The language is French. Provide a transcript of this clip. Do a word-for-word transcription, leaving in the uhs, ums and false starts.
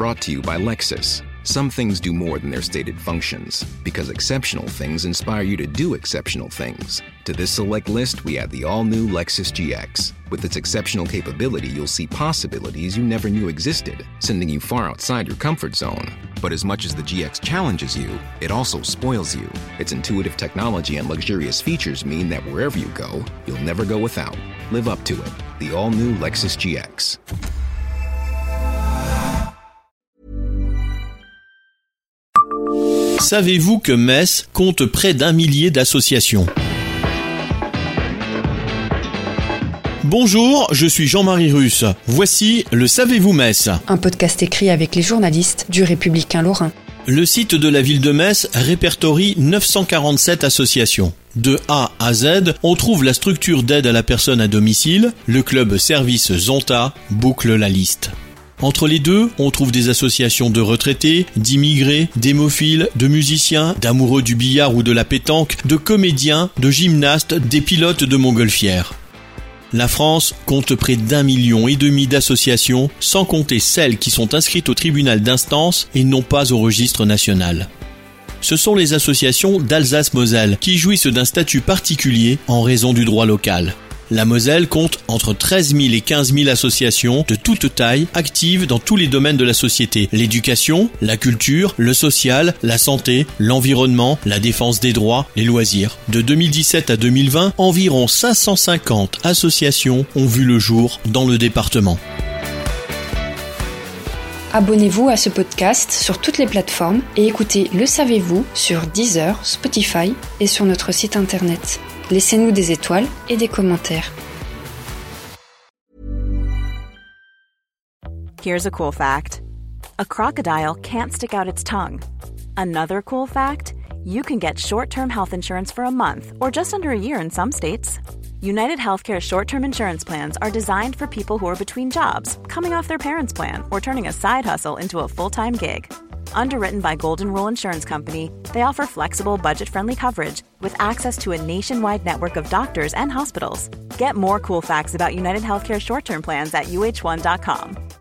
Brought to you by Lexus. Some things do more than their stated functions, because exceptional things inspire you to do exceptional things. To this select list, we add the all-new Lexus G X. With its exceptional capability, you'll see possibilities you never knew existed, sending you far outside your comfort zone. But as much as the G X challenges you, it also spoils you. Its intuitive technology and luxurious features mean that wherever you go, you'll never go without. Live up to it. The all-new Lexus G X. Savez-vous que Metz compte près d'un millier d'associations ? Bonjour, je suis Jean-Marie Russe. Voici le Savez-vous Metz ? Un podcast écrit avec les journalistes du Républicain Lorrain. Le site de la ville de Metz répertorie neuf cent quarante-sept associations. De A à Z, on trouve la structure d'aide à la personne à domicile, le club service Zonta boucle la liste. Entre les deux, on trouve des associations de retraités, d'immigrés, d'hémophiles, de musiciens, d'amoureux du billard ou de la pétanque, de comédiens, de gymnastes, des pilotes de montgolfière. La France compte près d'un million et demi d'associations, sans compter celles qui sont inscrites au tribunal d'instance et non pas au registre national. Ce sont les associations d'Alsace-Moselle qui jouissent d'un statut particulier en raison du droit local. La Moselle compte entre treize mille et quinze mille associations de toute taille actives dans tous les domaines de la société. L'éducation, la culture, le social, la santé, l'environnement, la défense des droits, les loisirs. De deux mille dix-sept à deux mille vingt, environ cinq cent cinquante associations ont vu le jour dans le département. Abonnez-vous à ce podcast sur toutes les plateformes et écoutez Le Savez-vous sur Deezer, Spotify et sur notre site internet. Laissez-nous des étoiles et des commentaires. Here's a cool fact. A crocodile can't stick out its tongue. Another cool fact, you can get short-term health insurance for a month or just under a year in some states. United Healthcare short-term insurance plans are designed for people who are between jobs, coming off their parents' plan, or turning a side hustle into a full-time gig. Underwritten by Golden Rule Insurance Company, they offer flexible, budget-friendly coverage with access to a nationwide network of doctors and hospitals. Get more cool facts about United Healthcare short-term plans at U H one dot com.